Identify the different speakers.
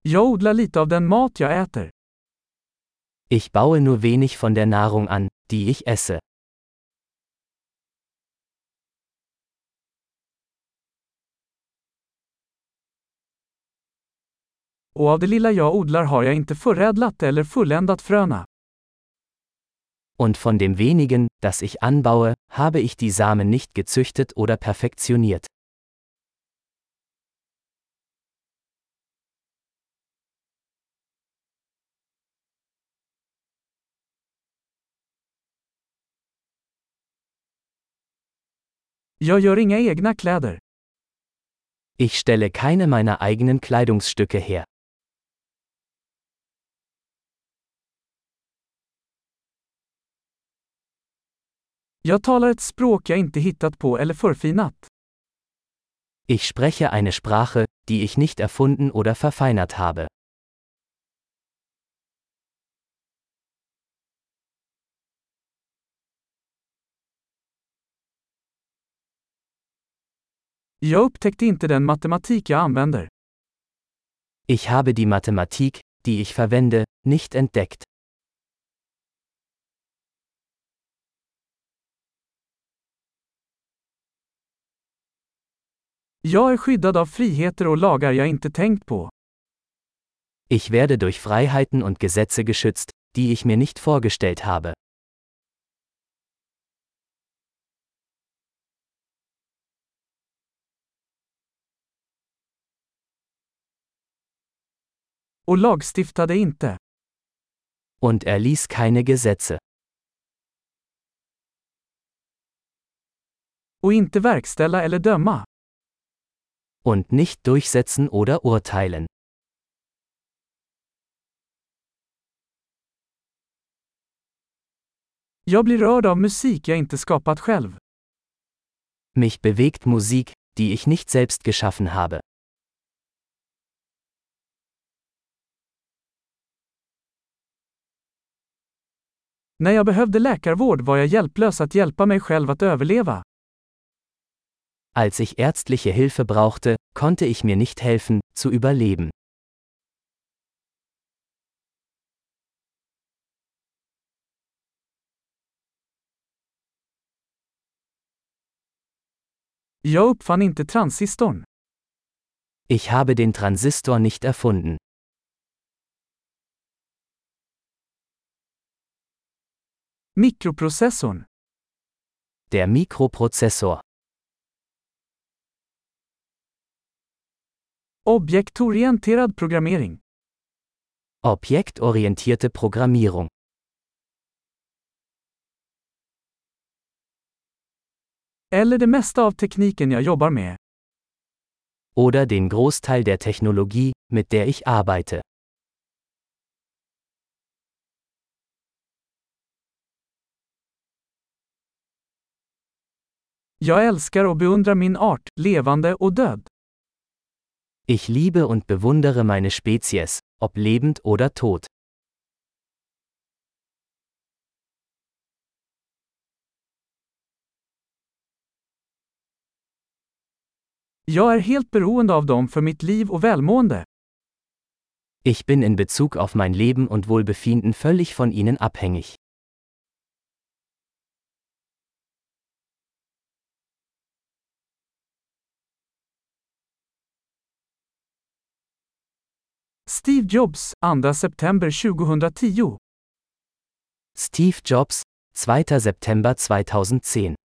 Speaker 1: Jag odlar lite av den mat jag äter.
Speaker 2: Ich baue nur wenig von der Nahrung an, die ich esse.
Speaker 1: Och av det lilla jag odlar har jag inte förädlat eller fulländat fröna.
Speaker 2: Und von dem wenigen, das ich anbaue, habe ich die Samen nicht gezüchtet oder perfektioniert.
Speaker 1: Jag gör inga egna kläder.
Speaker 2: Ich stelle keine meiner eigenen Kleidungsstücke her.
Speaker 1: Jag talar ett språk jag inte hittat på eller förfinat.
Speaker 2: Ich spreche eine Sprache, die ich nicht erfunden oder verfeinert habe.
Speaker 1: Jag upptäckte inte den matematik jag använder.
Speaker 2: Ich habe die Mathematik, die ich verwende, nicht entdeckt.
Speaker 1: Jag är skyddad av friheter och lagar jag inte tänkt på.
Speaker 2: Ich werde durch Freiheiten und Gesetze geschützt, die ich mir nicht vorgestellt habe.
Speaker 1: Och lagstiftade inte.
Speaker 2: Und erließ keine Gesetze.
Speaker 1: Och inte verkställa eller döma.
Speaker 2: Und nicht durchsetzen oder urteilen.
Speaker 1: Jag blir rörd av musik jag inte skapat själv.
Speaker 2: Mich bewegt Musik, die ich nicht selbst geschaffen habe.
Speaker 1: När jag behövde läkarvård var jag hjälplös att hjälpa mig själv att överleva.
Speaker 2: Als ich ärztliche Hilfe brauchte, konnte ich mir nicht helfen, zu überleben.
Speaker 1: Jag uppfann inte transistorn.
Speaker 2: Ich habe den Transistor nicht erfunden.
Speaker 1: Mikroprocessorn.
Speaker 2: Der Mikroprozessor.
Speaker 1: Objektorienterad programmering.
Speaker 2: Objektorientierte Programmierung.
Speaker 1: Eller det mesta av tekniken jag jobbar med.
Speaker 2: Oder den Großteil der Technologie, mit der ich arbeite.
Speaker 1: Jag älskar och beundrar min art, levande och död.
Speaker 2: Ich liebe und bewundere meine Spezies, ob lebend oder tot.
Speaker 1: Jag är helt beroende av dem för mitt liv och välmående.
Speaker 2: Ich bin in Bezug auf mein Leben und Wohlbefinden völlig von ihnen abhängig.
Speaker 1: Steve Jobs, 2 september 2010.
Speaker 2: Steve Jobs, 2. September 2010